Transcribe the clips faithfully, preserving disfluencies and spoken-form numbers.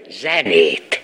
zenét.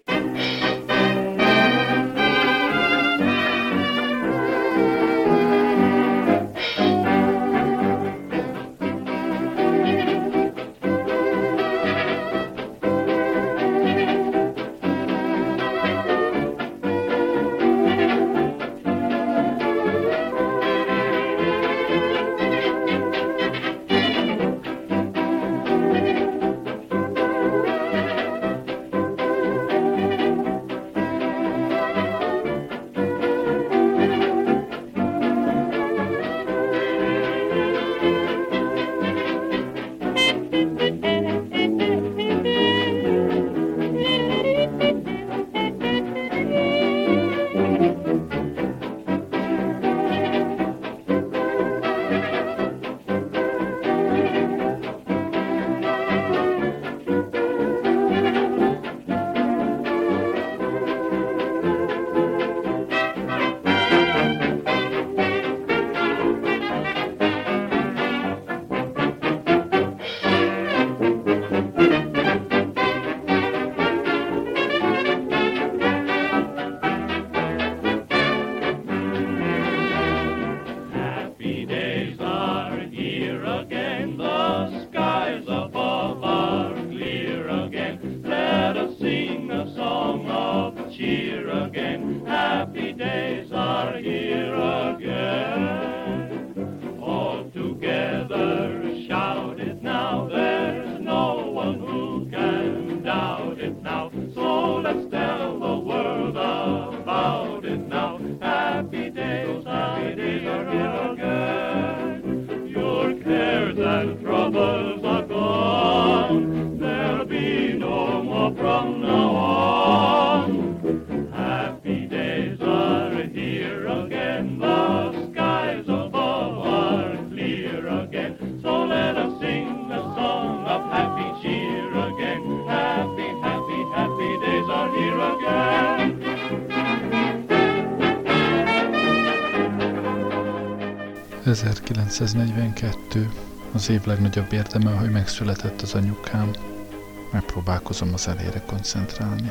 ezerkilencszáznegyvenkettő. Az év legnagyobb érdeme, hogy megszületett az anyukám. Megpróbálkozom az elére koncentrálni.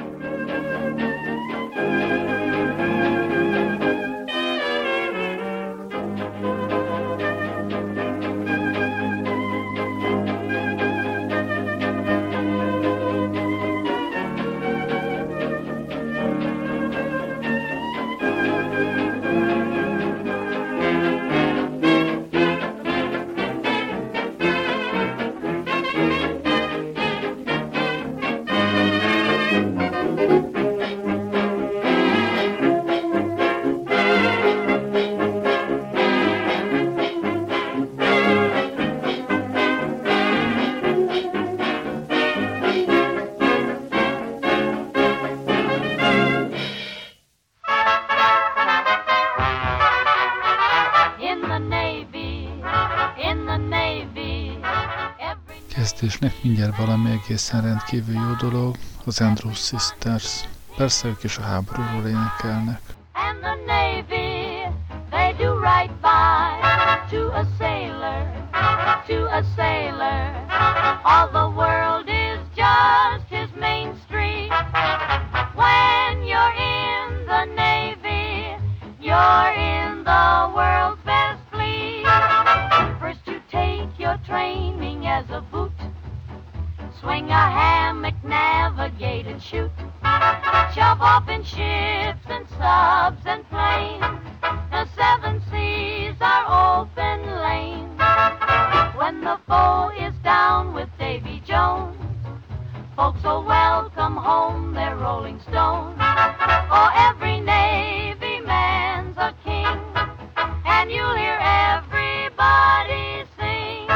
Kezdésnek mindjárt valami egészen rendkívül jó dolog, az Andrews Sisters. Persze ők is a háborúról énekelnek. And the Navy, they do right by to a sailor, to a sailor. All the world is just his main street. When you're in the Navy, you're in the world's best fleet. First you take your training as a boot, swing a hammock, navigate and shoot, shove off in ships and subs and planes. The seven seas are open lanes. When the foe is down with Davy Jones, folks will welcome home their rolling stones. Oh, every Navy man's a king, and you'll hear everybody sing.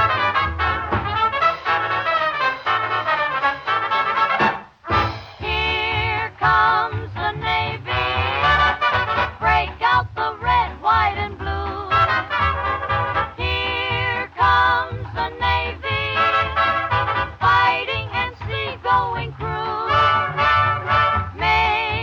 Here comes the Navy, break out the red, white, and blue. Here comes the Navy, fighting and sea-going crew. May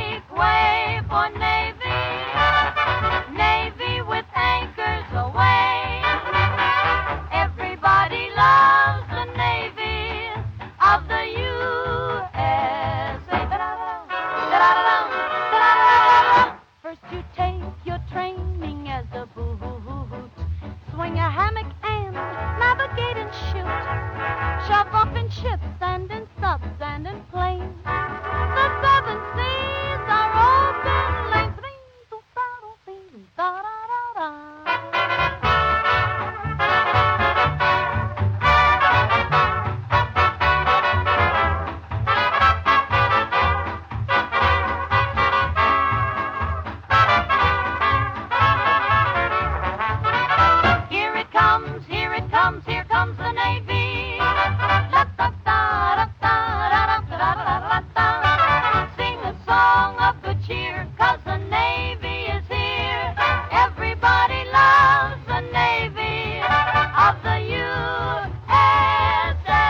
ships and in subs and in planes. The seven seas are open lanes. Here it comes, here it comes, here comes the Navy. Sing a song of good cheer, 'cause the Navy is here. Everybody loves the Navy of the U S A.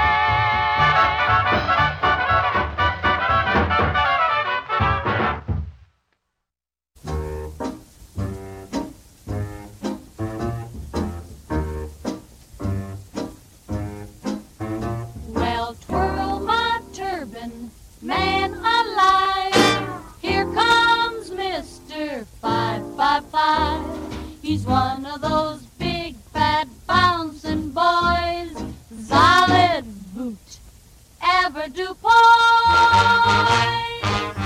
Well, twirl my turban, man alive. Here comes Mister five five five. He's one of those big, fat, bouncing boys. Solid boot, ever do poise.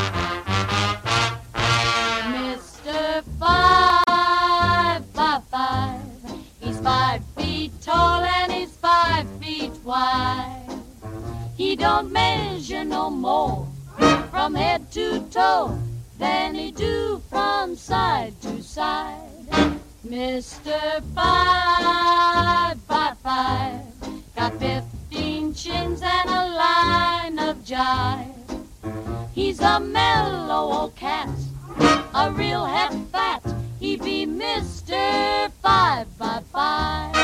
Mister five five five. He's five feet tall and he's five feet wide. He don't measure no more from head to toe than he do from side to side. Mister Five Five Five got fifteen chins and a line of jive. He's a mellow old cat, a real head fat. He be Mister Five Five Five.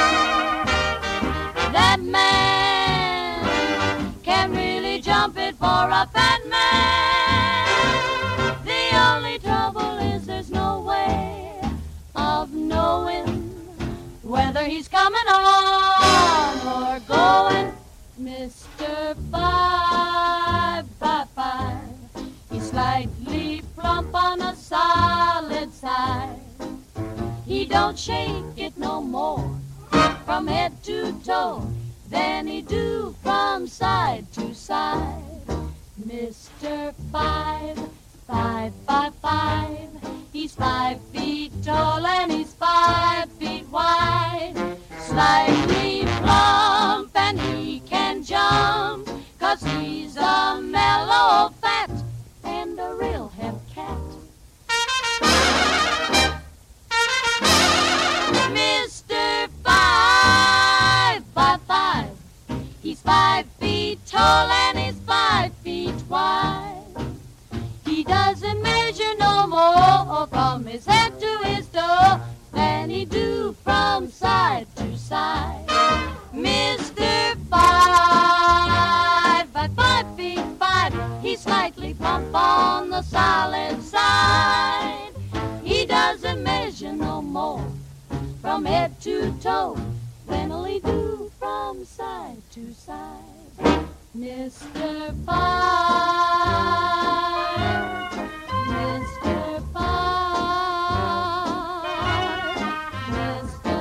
That man can really jump it for a fat man. The only trouble is there's no way of knowing whether he's coming on or going. Mister Five Five Five, he's slightly plump on a solid side. He don't shake it no more from head to toe than he do from side to side. Mister Five, Five, Five, Five, he's five feet tall and he's five feet wide. Slightly plump and he can jump, 'cause he's a mellow fat and a real hep cat. Mister Five, Five, Five, he's five feet tall and he's five feet wide. He doesn't measure no more from his head to his toe than he do from side to side. Mister Five, Five, five feet five, he's slightly plump on the solid side. He doesn't measure no more from head to toe than he do from side to side. Mister Five, Mister Five, Mister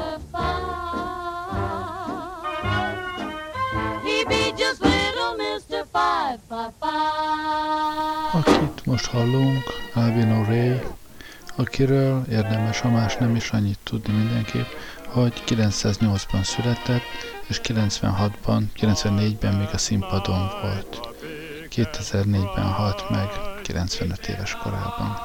Five, he be just little Mister Five, Five, Five. Akit most hallunk, Alvin O'Reilly, akiről érdemes, ha más nem is annyit tudni mindenképp, hogy kilencszáznyolcban született, és kilencvenhatban, kilencvennégyben még a színpadon volt. kétezer-négyben halt meg, kilencvenöt éves korában.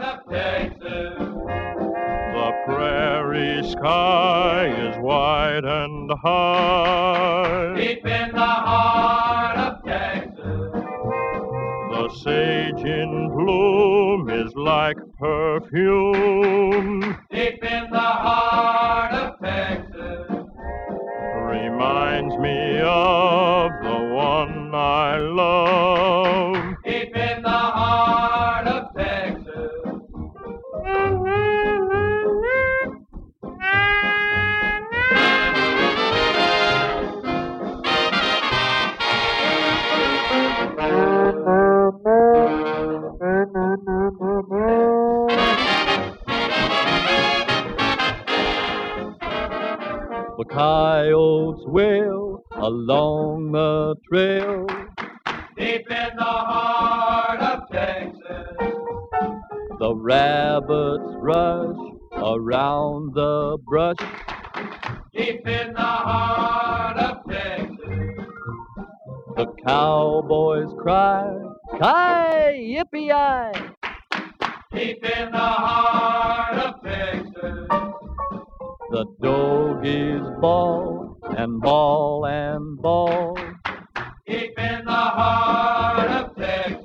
The prairie sky is wide and high. Deep in the heart of Texas. The sage in bloom is like perfume. Deep in the heart of Texas. Reminds me of the one I love. Deep in the heart of Texas. The coyotes wail along the trail. Deep in the heart of Texas, the rabbits rush around the brush. Deep in the heart of Texas, the cowboys cry, Ki-yippee-yi! Deep in the heart of Texas, the doggies bawl and bawl and bawl. Deep in the heart of Texas.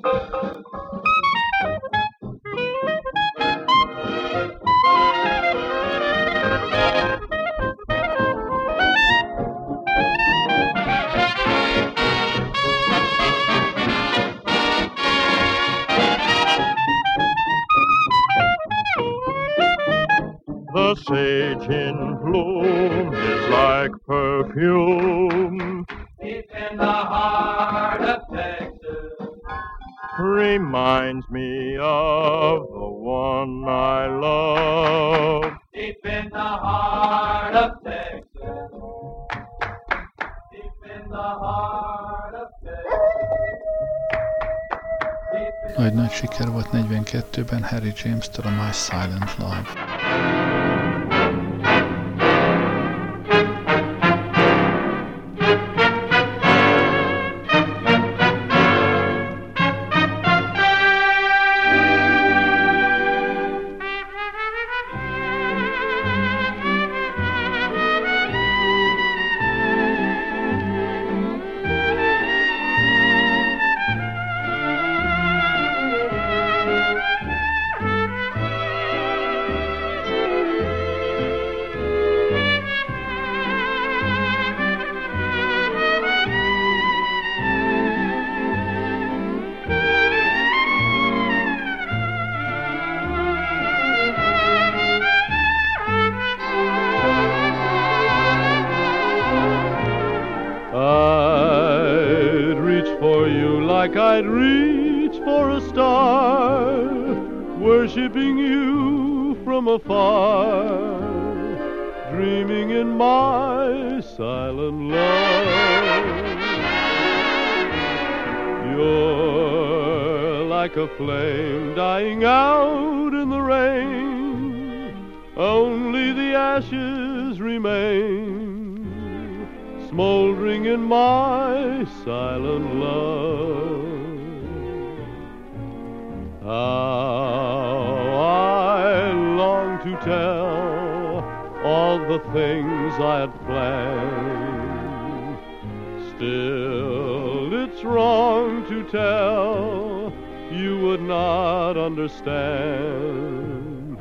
The sage in bloom is like perfume. Deep in the heart of Texas, reminds me of the one I love. Deep in the heart of Texas, deep in the heart of Texas. Nagy nagy siker volt negyvenkettőben Harry James-től a My Silent Love. Like I'd reach for a star, worshiping you from afar, dreaming in my silent love. You're like a flame dying out in the rain, only the ashes remain, smoldering in my silent love. How I long to tell all the things I had planned. Still, it's wrong to tell, you would not understand.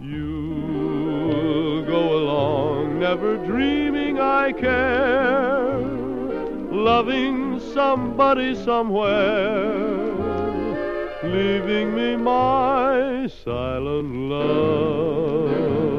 You'll go along, never dreaming I care, loving somebody somewhere, leaving me my silent love.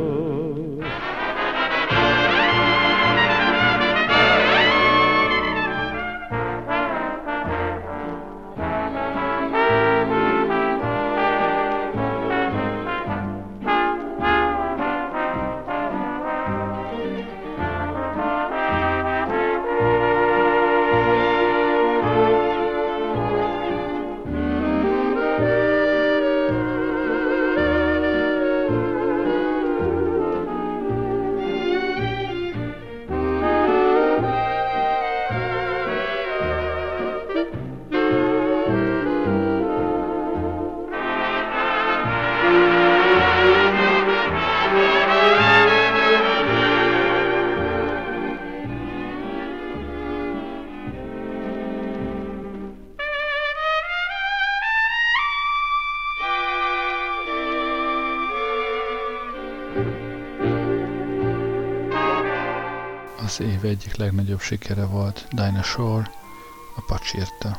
Az év egyik legnagyobb sikere volt Dinah Shore, a Pacsirta.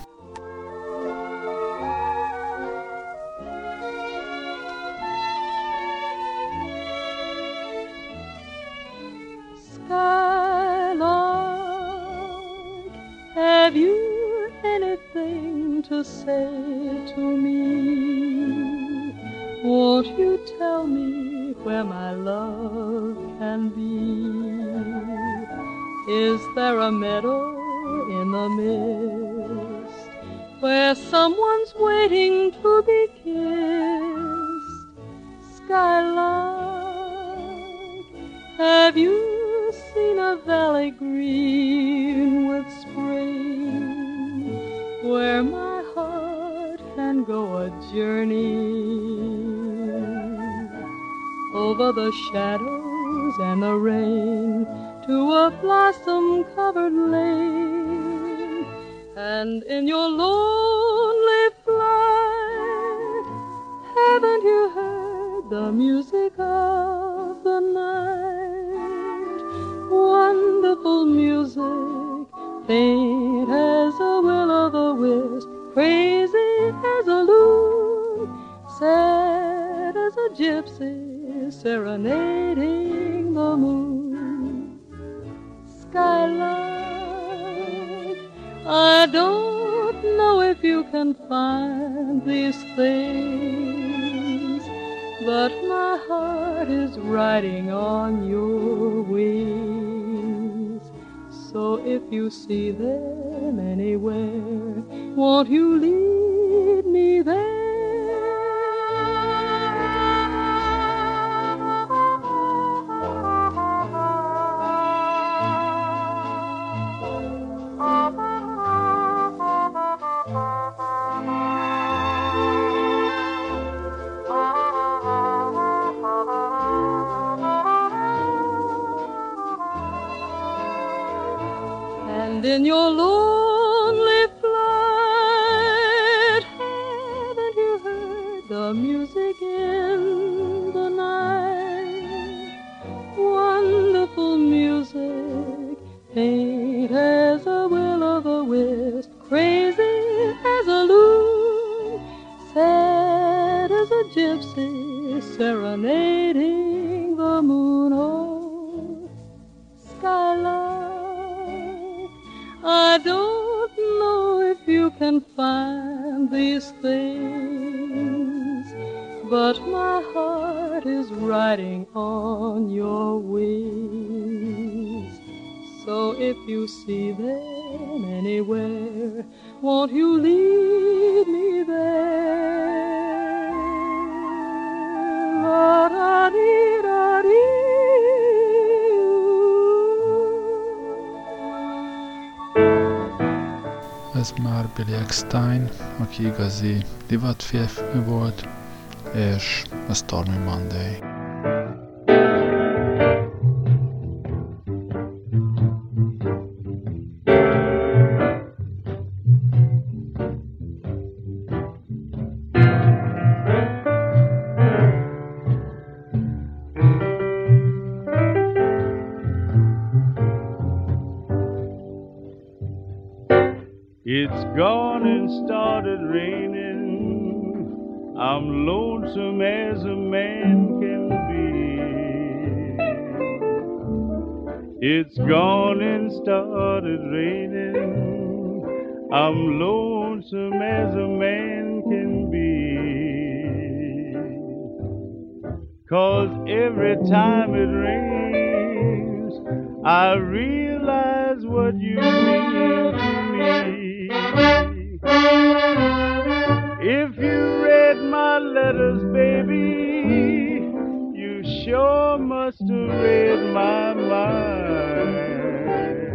Skylark, have you anything to say to me? Won't you tell me where my love can be? Is there a meadow in the mist, where someone's waiting to be kissed. Skylark, have you seen a valley green with spring, where my heart can go a journey over the shadows and the rain to a blossom-covered lane? And in your lonely flight, haven't you heard the music of the night? Wonderful music, faint as a will-o'-the-wisp, crazy as a loon, sad as a gypsy serenading the moon. Skylark, I don't know if you can find these things, but my heart is riding on your wings. So if you see them anywhere, won't you lead me there? And in your lonely flight, haven't you heard the music in the night? Wonderful music, faint as a will-o'-the-wisp, crazy as a loon, sad as a gypsy serenading the moon. Oh, Skylark, I don't know if you can find these things, but my heart is riding on your wings. So if you see them anywhere, won't you lead me there? La-da-dee-da-dee. Ez már Billy Eckstine, aki igazi divatférfi volt, és a Stormy Monday. It's gone and started raining. I'm lonesome as a man can be. It's gone and started raining. I'm lonesome as a man can be. 'Cause every time it rains, I realize what you mean to me. If you read my letters, baby, you sure must have read my mind.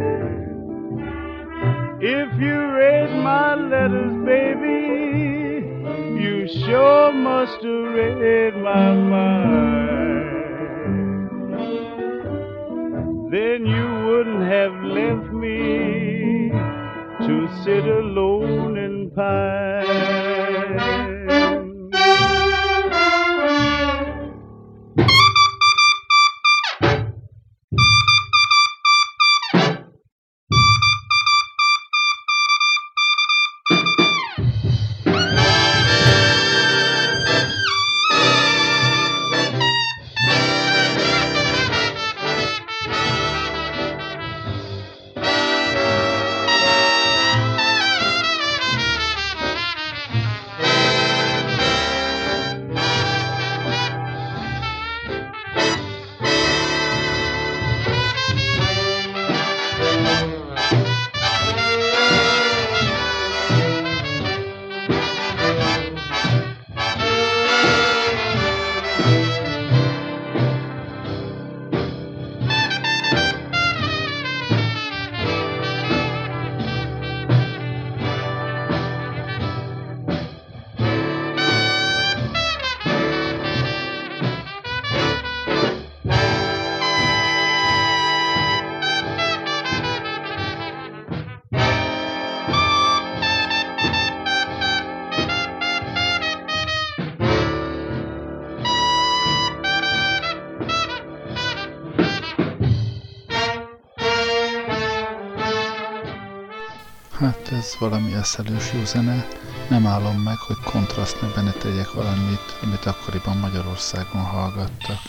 If you read my letters, baby, you sure must have read my mind. Then you wouldn't have left me to sit alone and pine. ez valami eszelős jó zene. Nem állom meg, hogy kontrasztnak benne tegyek valamit, amit akkoriban Magyarországon hallgattak.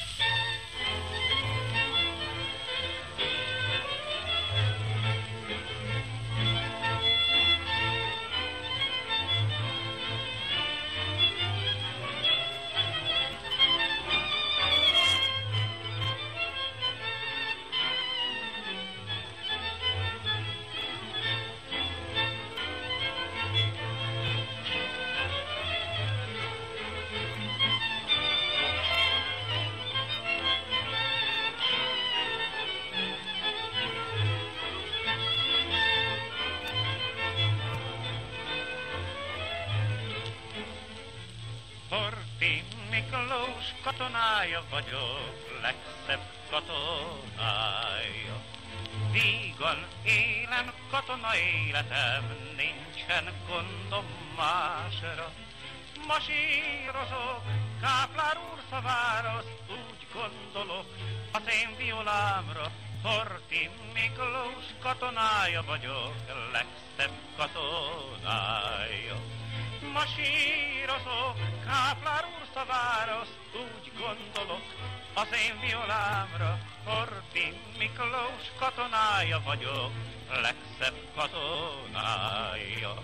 Horthy Miklós katonája vagyok, legszebb katonája. Vígan élem katona életem, nincsen gondom másra. Masírozok, Káplár úr szavára, úgy gondolok az én violámra. Horthy Miklós katonája vagyok, legszebb katonája. Masírozok, Káplár úr szavára, úgy gondolok az én violámra. Horthy Miklós katonája vagyok, legszebb katonája.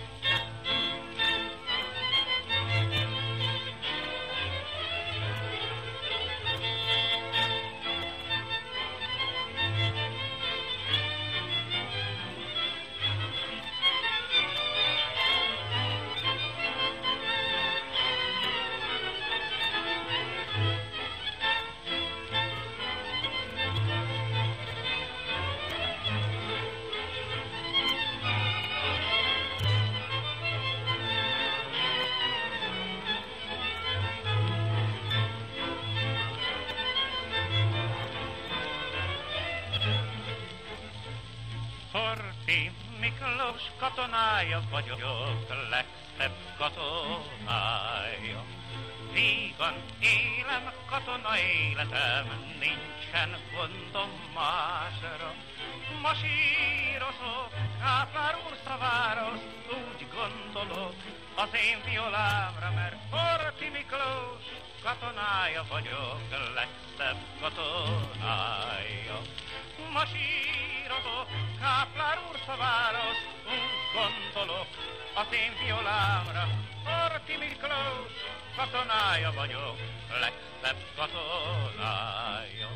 Horthy Miklós katonája vagyok, legszebb katonája. Vígan élem katona életem, nincsen gondom másra. Masírozok, Káplár úr szavára, úgy gondolok az én violámra, mert Horthy Miklós katonája vagyok, legszebb katonája. Masírozok, Káplár úr szavára, úgy gondolok az én violámra. Horthy Miklós katonája vagyok, legszebb katonája.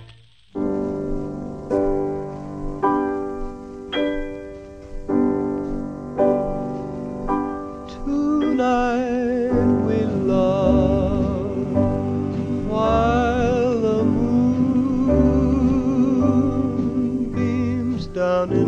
Tonight we love while the moon beams down in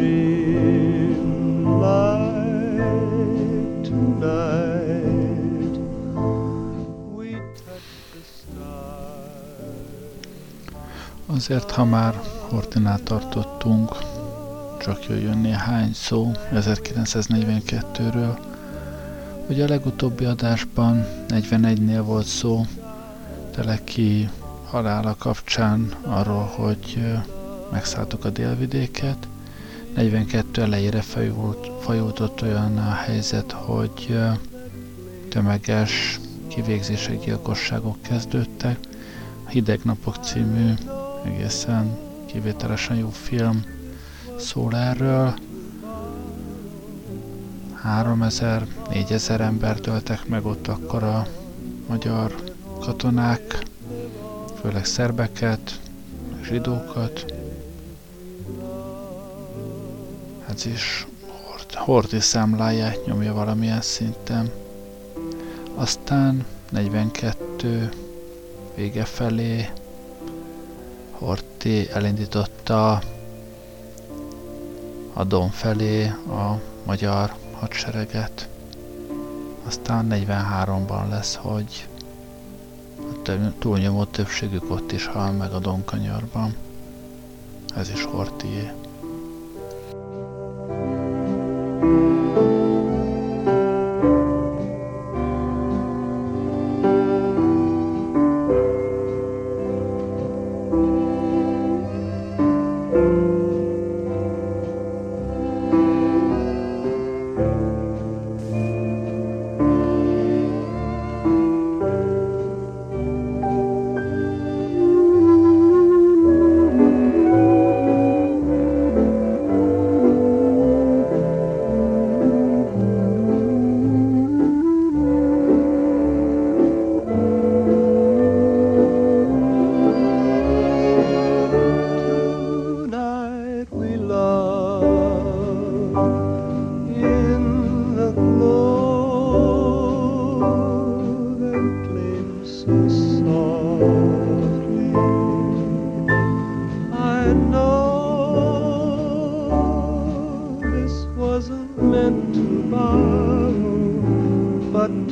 dreamlight. Tonight we touch the stars. Azért, ha már Horthynál tartottunk, csak jöjjön néhány szó ezerkilencszáznegyvenkettőről. Ugye a legutóbbi adásban negyvenegynél volt szó Teleki halála kapcsán arról, hogy megszálltuk a délvidéket. negyvenkettő elejére fajult olyan a helyzet, hogy tömeges kivégzések, gyilkosságok kezdődtek. A Hideg napok című egészen kivételesen jó film szól erről. háromezer, négyezer embert öltek meg ott akkor a magyar katonák, főleg szerbeket, zsidókat. Ez is Horthy számláját nyomja valamilyen szinten. Aztán negyvenkettő vége felé Horthy elindította a Don felé a magyar hadsereget. Aztán negyvenháromban lesz, hogy a túlnyomó többségük ott is hal meg a Donkanyarban. Ez is Horthyé.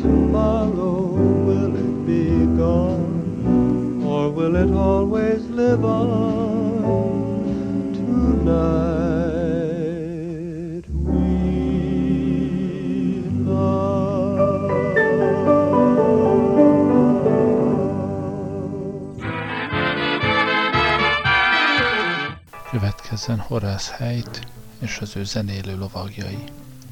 tomorrow will it be gone, or will it always live on? Tonight we love. Következzen Horace Heidt és az ő zenélő lovagjai.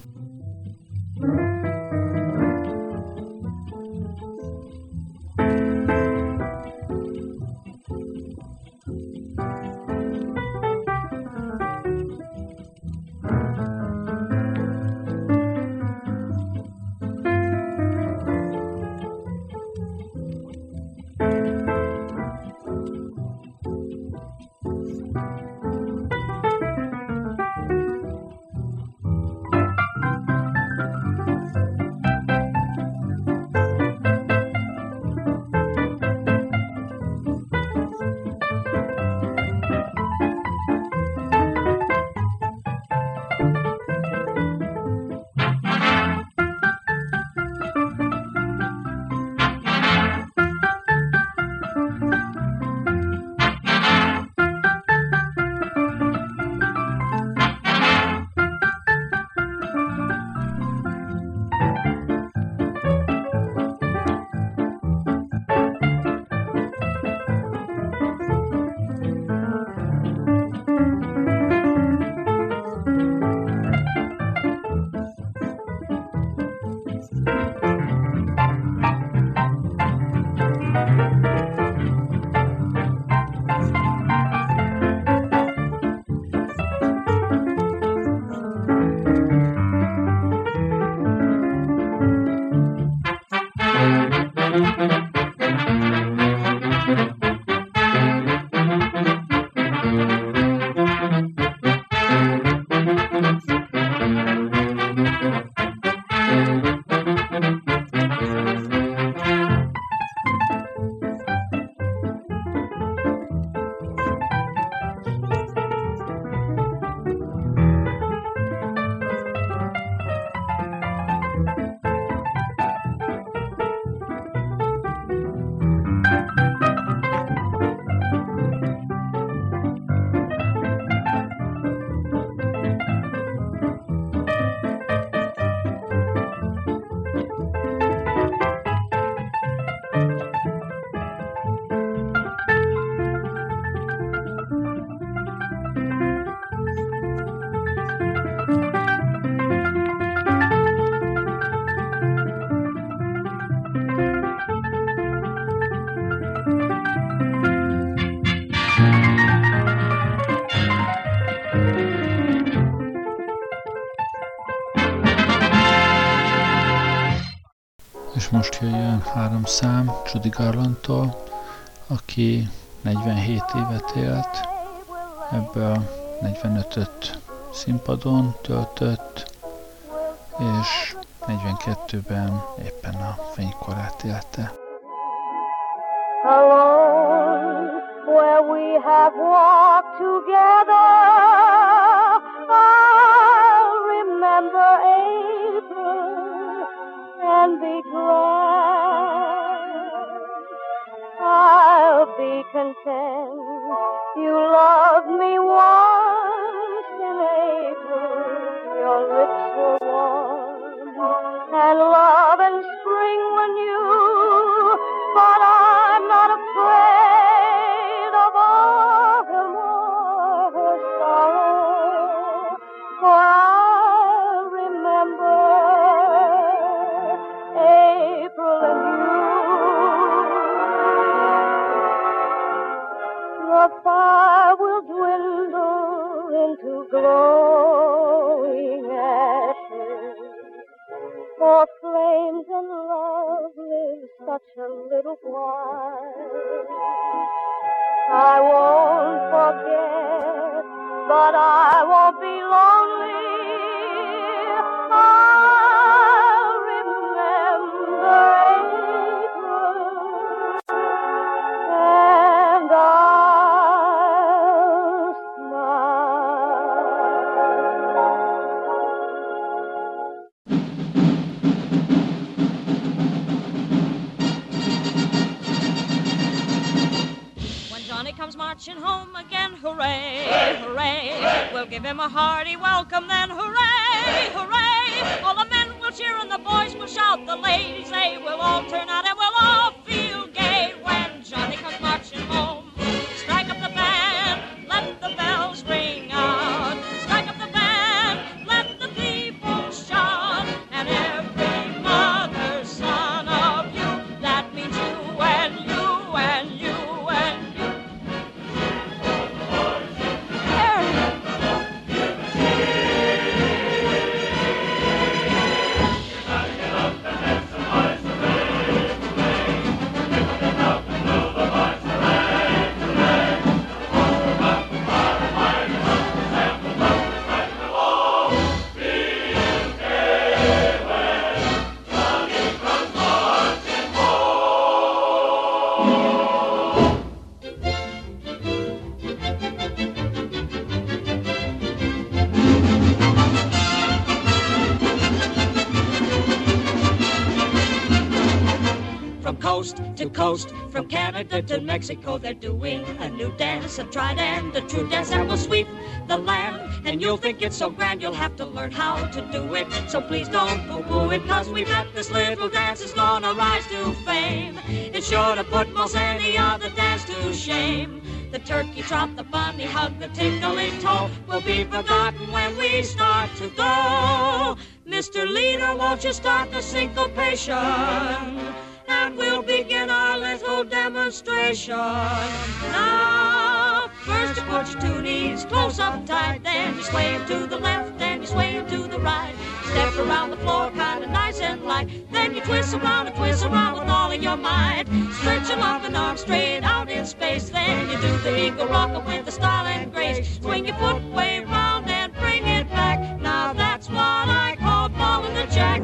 És most jöjjön három szám Judy Garlandtól, aki negyvenhét évet élt, ebből negyvenötöt színpadon töltött, és negyvenkettőben éppen a fénykorát élte. Alone, where we have walked together, I'll remember April and be glad. I'll be content. You loved me once in April. Your lips were warm and love and spring were new. But I'm not afraid of autumn or her sorrow, for I remember April and you. The fire will dwindle into glowing ashes, for flames and love live such a little while. I won't forget, but I won't be lonely. I'll remember April, and I'll smile. marching home again. Hooray, hooray. We'll give him a hearty welcome then. Hooray, hooray. All the men will cheer and the boys will shout. The ladies, they will all turn out and we'll all feel gay when Johnny comes marching home. Strike up the band, let the bells ring out. Strike up the band, let the people shout. And every mother's son of you, that means you and you and you and you. Coast to coast, from Canada to Mexico, they're doing a new dance, a tried and a true dance that will sweep the land. And you'll think it's so grand, you'll have to learn how to do it. So please don't poo-poo it, cause we bet this little dance is gonna rise to fame. It's sure to put most any other dance to shame. The turkey trot, the bunny hug, the tinkling toe will be forgotten when we start to go. Mister Leader, won't you start the syncopation? And we'll begin our little demonstration. Now, first you put your two knees close up tight, then you sway them to the left, then you sway them to the right. Step around the floor kind of nice and light, then you twist around and twist around with all of your might. Stretch your loving arms straight out in space, then you do the eagle rocker with the style and grace. Swing your foot way round and bring it back. Now that's what I call balling the jack.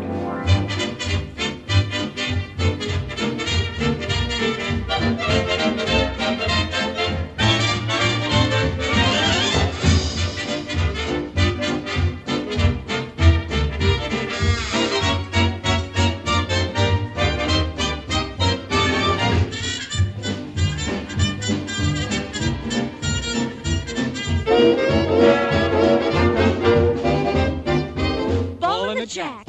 Ballin' the jack.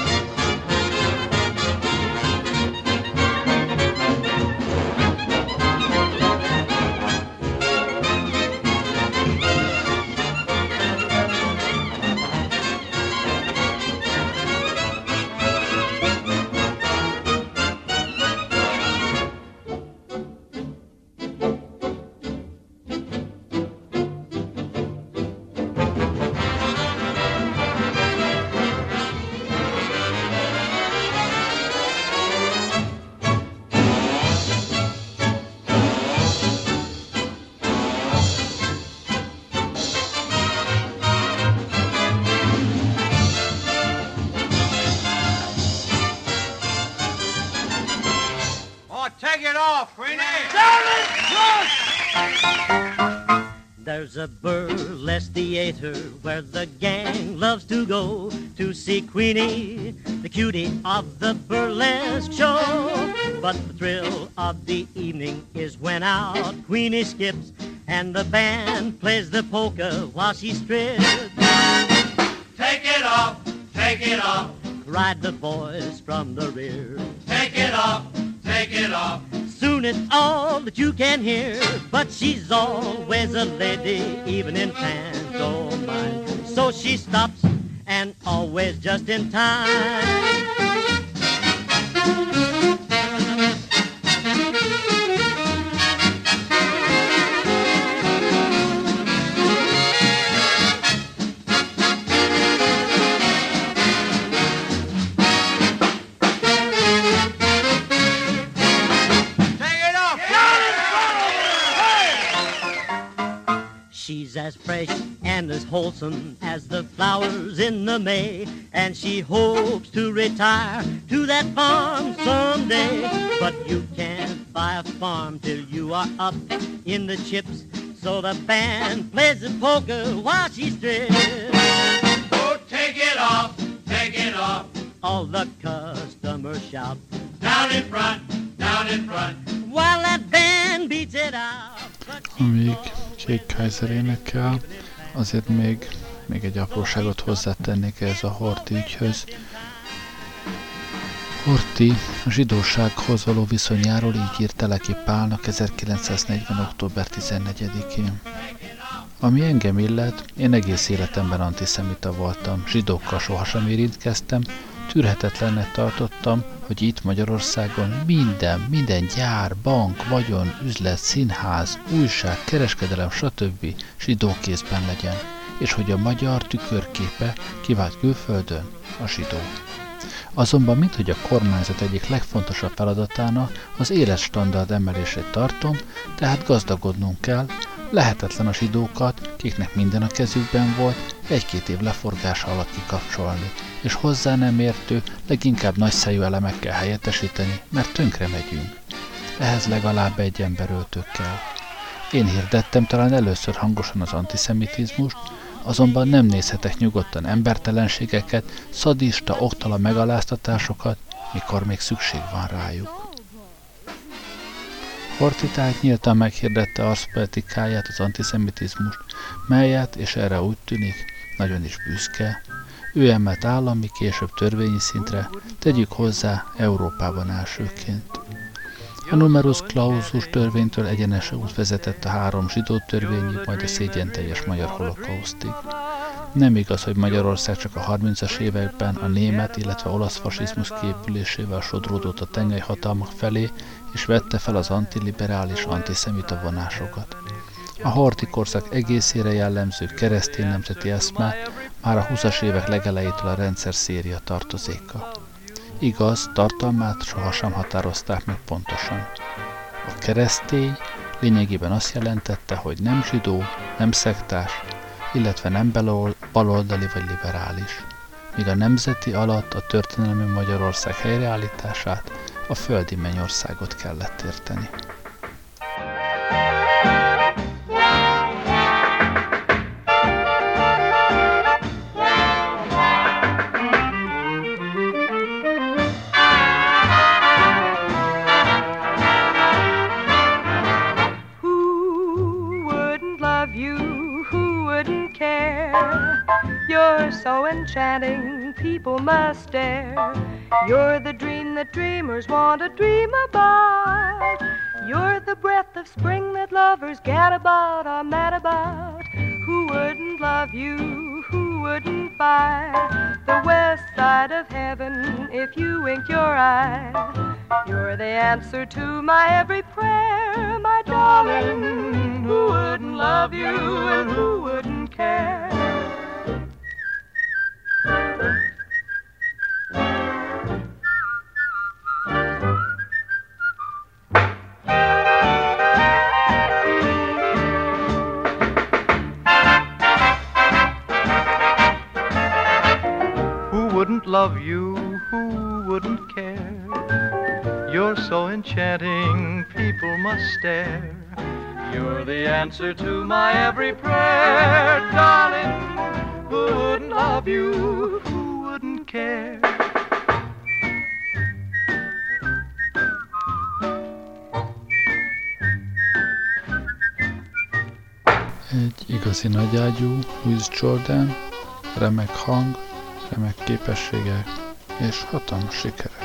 There's a burlesque theater where the gang loves to go to see Queenie, the cutie of the burlesque show. But the thrill of the evening is when out Queenie skips and the band plays the polka while she strips. Take it off, take it off, Cried the voice from the rear. take it off, take it off. Soon it's all that you can hear, but she's always a lady, even in pantomime. So she stops, and always just in time. She's as fresh and as wholesome as the flowers in the May, and she hopes to retire to that farm someday. But you can't buy a farm till you are up in the chips, so the band plays the polka while she strips. Oh, take it off, take it off. All the customers shout, Down in front, down in front. while that band beats it out. Amíg Kay Kyser énekel, azért még, még egy apróságot hozzátennék ehhez a Horthy ügyhöz. Horthy a zsidósághoz való viszonyáról így írt Teleki Pálnak ezerkilencszáznegyven. október tizennegyedikén. Ami engem illet, én egész életemben antiszemita voltam, zsidókkal sohasem érintkeztem, tűrhetetlennek tartottam, hogy itt Magyarországon minden, minden gyár, bank, vagyon, üzlet, színház, újság, kereskedelem, stb. Zsidó kézben legyen, és hogy a magyar tükörképe kivált külföldön a zsidó. Azonban minthogy a kormányzat egyik legfontosabb feladatának az életstandard emelését tartom, tehát gazdagodnunk kell, lehetetlen a zsidókat, kiknek minden a kezükben volt, egy-két év leforgása alatt kikapcsolni, és hozzá nem értő, leginkább nagyszájú elemekkel helyettesíteni, mert tönkre megyünk. Ehhez legalább egy emberöltő kell. Én hirdettem talán először hangosan az antiszemitizmust, azonban nem nézhetek nyugodtan embertelenségeket, szadista, oktala megaláztatásokat, mikor még szükség van rájuk. Horthy tehát nyíltan meghirdette arszpolitikáját, az antiszemitizmust, melyet, és erre úgy tűnik, nagyon is büszke, ő emelt állami, később törvényi szintre, tegyük hozzá Európában elsőként. A numerus clausus törvénytől egyenes út vezetett a három zsidó törvényig, majd a szégyenteljes magyar holokausztig. Nem igaz, hogy Magyarország csak a harmincas években a német, illetve olasz fasizmus kiépülésével sodródott a tengely hatalmak felé, és vette fel az antiliberális, antiszemita vonásokat. A Horthy korszak egészére jellemző keresztény nemzeti eszme már a húszas évek legelejétől a rendszer széria tartozéka. Igaz, tartalmát sohasem határozták meg pontosan. A keresztény lényegében azt jelentette, hogy nem zsidó, nem szektás, illetve nem baloldali vagy liberális, míg a nemzeti alatt a történelmi Magyarország helyreállítását, a földi mennyországot kellett érteni. You're so enchanting, people must stare. You're the dream that dreamers want to dream about. You're the breath of spring that lovers gad about, are mad about. Who wouldn't love you? Who wouldn't find the west side of heaven if you winked your eye? You're the answer to my every prayer, my darling. Who wouldn't love you and who wouldn't care? Love you, who wouldn't care? You're so enchanting, people must stare. You're the answer to my every prayer, darling. Who wouldn't love you, who wouldn't care? Egy igazi nagyágyú Louis Jordan, remek hang, remek képességek és hatalmas sikerek.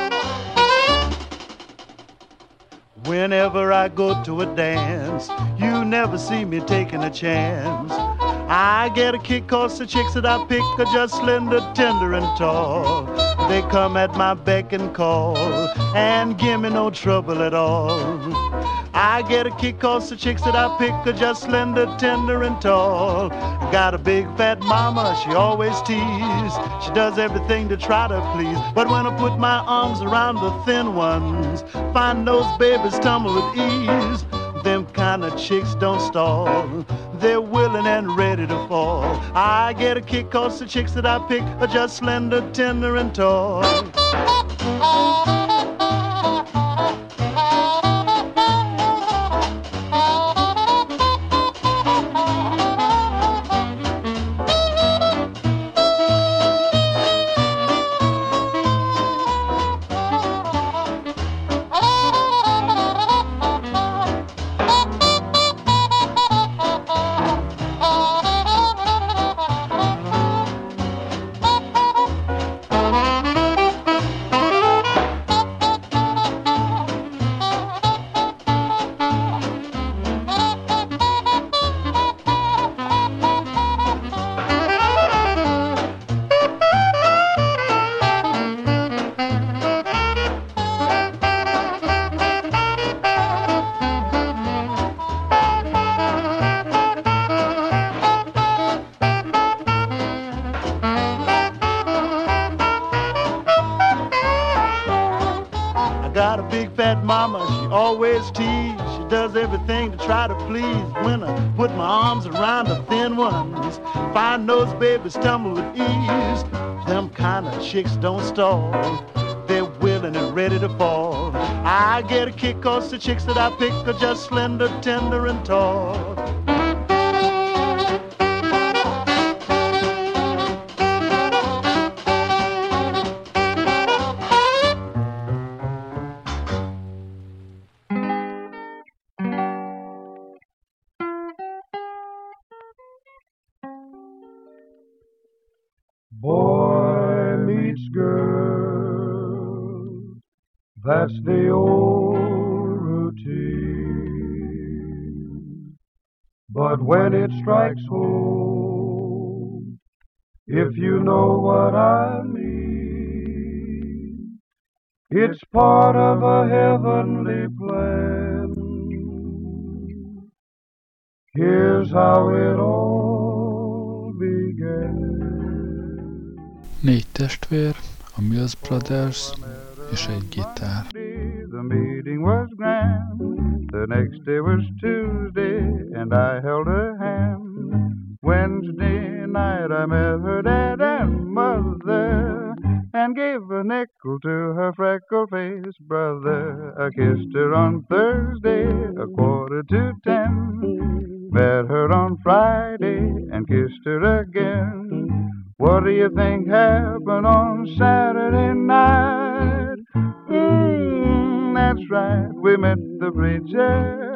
Whenever I go to a dance, you never see me taking a chance. I get a kick 'cause the chicks that I pick are just slender, tender, and tall. They come at my beck and call and give me no trouble at all. I get a kick 'cause the chicks that I pick are just slender, tender, and tall. Got a big fat mama, she always tease. She does everything to try to please. But when I put my arms around the thin ones, find those babies tumble with ease. Them kind of chicks don't stall. They're willing and ready to fall. I get a kick 'cause the chicks that I pick are just slender, tender, and tall. got a big fat mama, she always tease. She does everything to try to please. When I put my arms around the thin ones, fine nosed babies tumble with ease. Them kind of chicks don't stall. They're willing and ready to fall. I get a kick cause the chicks that I pick are just slender, tender, and tall. Boy meets girl, that's the old routine. But when it strikes home, if you know what I mean, it's part of a heavenly plan. Here's how it all began. Négy testvér, a Mills Brothers és egy gitár. The meeting was grand. The next day was Tuesday, and I held her hand. Wednesday night I met her dad and mother, and gave a nickel to her freckle-faced brother. I kissed her on Thursday, a quarter to ten. Met her on Friday, and kissed her again. What do you think happened on Saturday night? Mm, that's right, we met the preacher.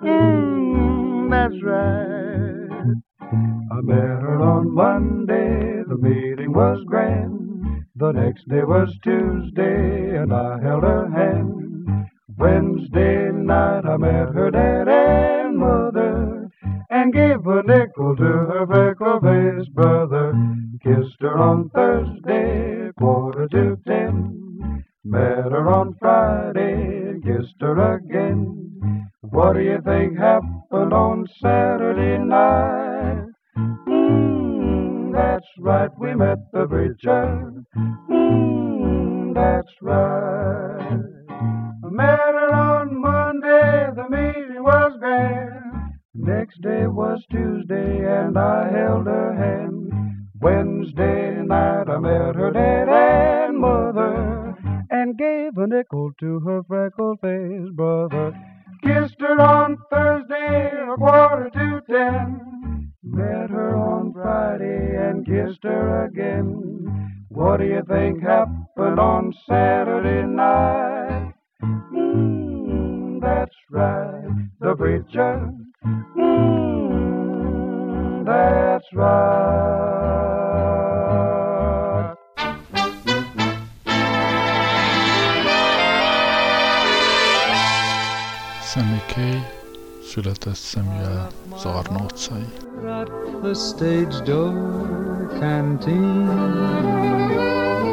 Mm, that's right. I met her on Monday, the meeting was grand. The next day was Tuesday, and I held her hand. Wednesday night I met her dad and mother, and gave a nickel to her freckle-faced brother. Kissed her on Thursday, quarter to ten. Met her on Friday, and kissed her again. What do you think happened on Saturday night? Mm, that's right, we met the preacher. Mm, that's right. I met her on Monday, the meeting was grand. Next day was Tuesday, and I held her hand. Wednesday night I met her dad and mother, and gave a nickel to her freckle-faced brother. Kissed her on Thursday, a quarter to ten. Met her on Friday, and kissed her again. What do you think happened on Saturday night? Mm, that's right, the preacher. Mm, that's right. Sammy Kaye született Samuel Zarna utcai. At the stage door canteen,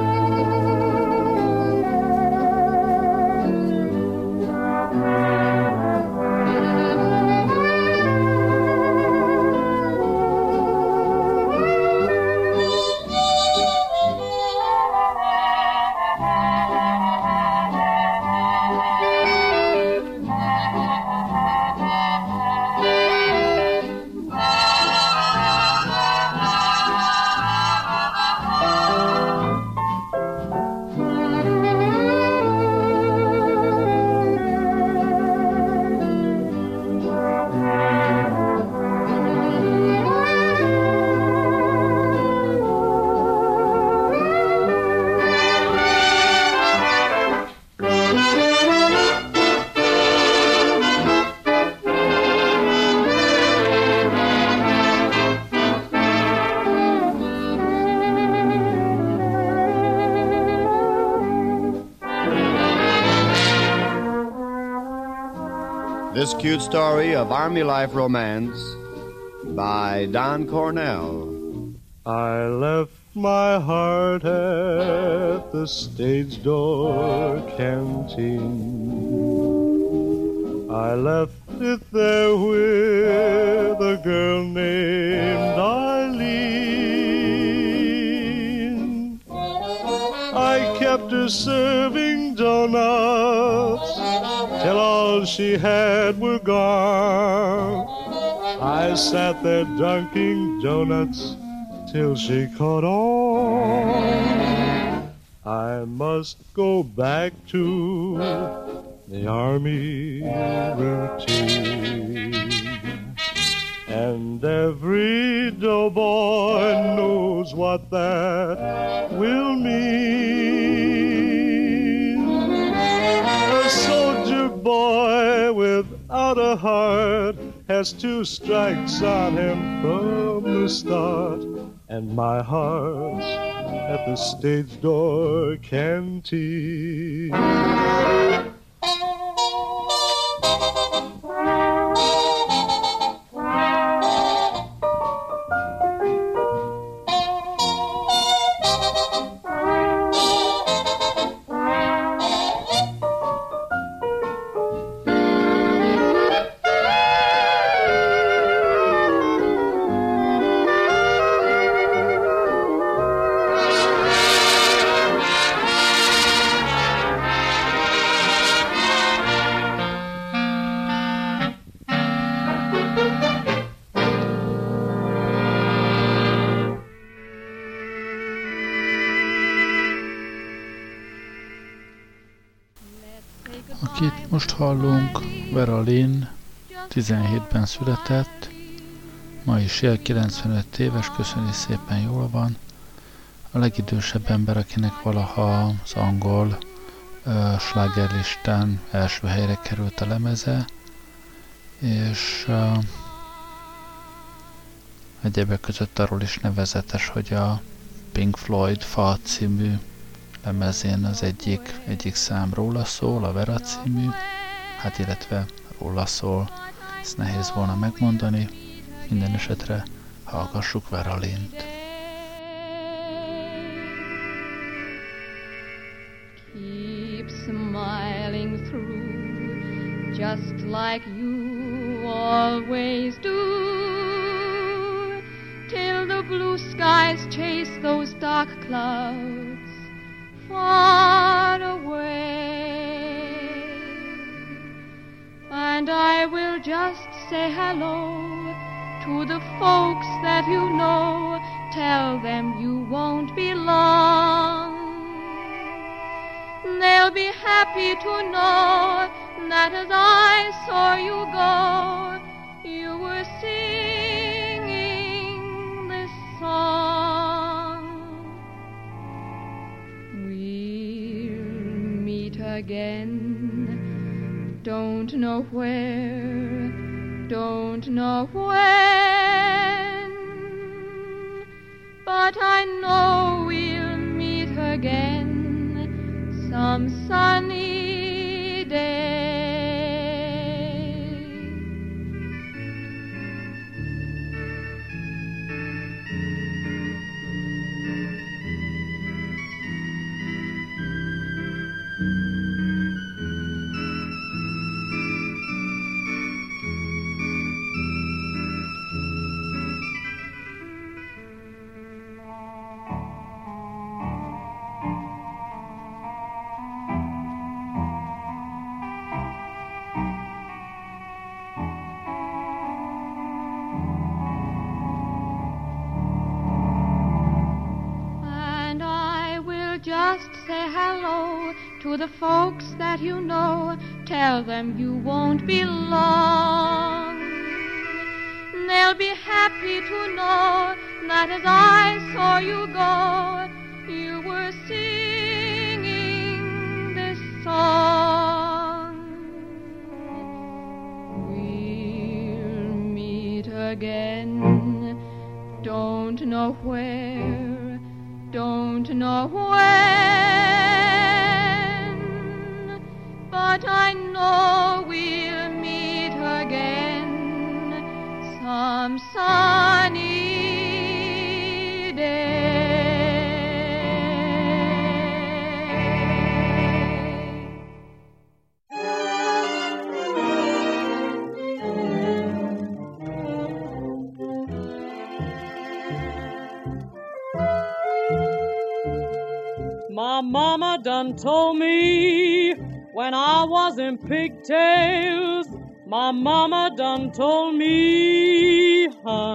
This cute story of Army life romance by Don Cornell. I left my heart at the stage door canteen. I left it there with a girl named Eileen. I kept it her serving donuts till all she had were gone. I sat there dunking donuts till she caught on. I must go back to the army routine. And every doughboy knows what that will mean. A soldier boy without a heart has two strikes on him from the start. And my heart's at the stage door canteen. Akit most hallunk, Vera Lynn, tizenhétben született, ma is él, kilencvenöt éves, köszöni szépen, jól van. A legidősebb ember, akinek valaha az angol uh, slágerlistán első helyre került a lemeze, és uh, egyebek között arról is nevezetes, hogy a Pink Floyd Fa című lemezén az egyik, egyik szám róla szól, a Vera című, hát illetve róla szól, ezt nehéz volna megmondani, minden esetre hallgassuk Vera Lynnt. Keep smiling through, just like you always do, till the blue skies chase those dark clouds far away, and I will just say hello to the folks that you know, tell them you won't be long. They'll be happy to know that as I saw you go, you were singing this song. We'll meet again, don't know where, don't know when, but I know we'll meet again some sunny day. Just say hello to the folks that you know, tell them you won't be long. They'll be happy to know that as I saw you go, you were singing this song. We'll meet again, don't know where, don't know when, but I know we'll meet again some sunny day. My mama done told me when I was in pigtails. My mama done told me,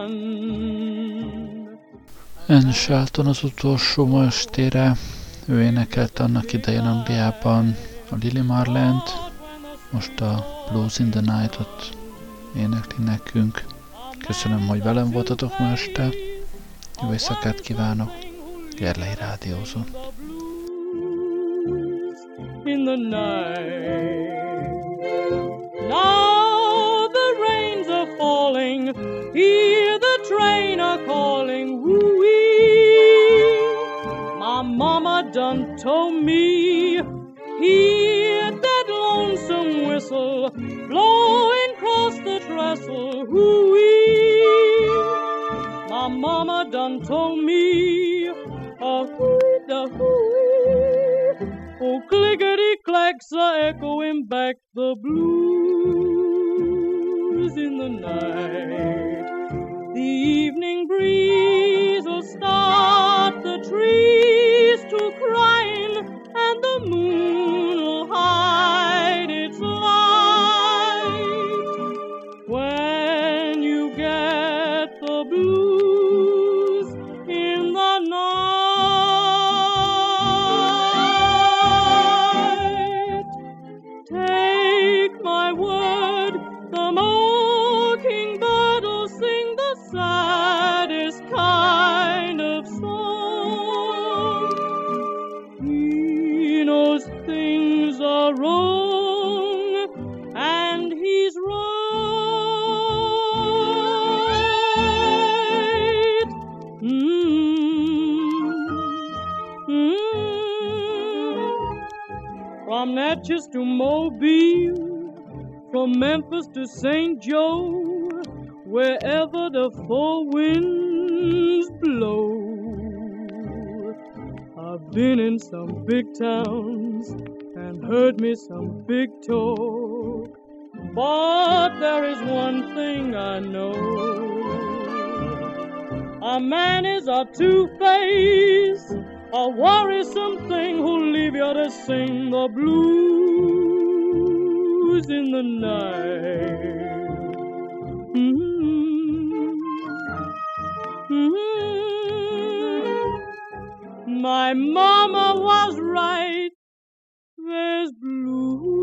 hun. Anne Shelton az utolsó ma estére, ő énekelt annak idején Angliában a Lily Marlent, most a Blues in the Night-ot énekli nekünk. Köszönöm, hogy velem voltatok ma este. Jó éjszakát kívánok. Gerlei rádiózott. In the night. Now the rains are falling, hear the train a calling, woo-wee. My mama done told me, hear that lonesome whistle blowing across the trestle, woo-wee. My mama done told me, a hoo da hoo, oh clickety clacks are echoing back the blues in the night. The evening breeze will start the trees to crying, and the moon will hide its light. When you get the blues in the night, take my word, the mockingbird will sing the saddest kind of song. He knows things are wrong, and he's right. Mm-hmm. Mm-hmm. From Natchez to Mobile, from Memphis to Saint Joe, wherever the four winds blow. I've been in some big towns and heard me some big talk, but there is one thing I know. A man is a two-faced, a worrisome thing who'll leave you to sing the blues in the night. Mm-hmm. Mm-hmm. My mama was right, there's blues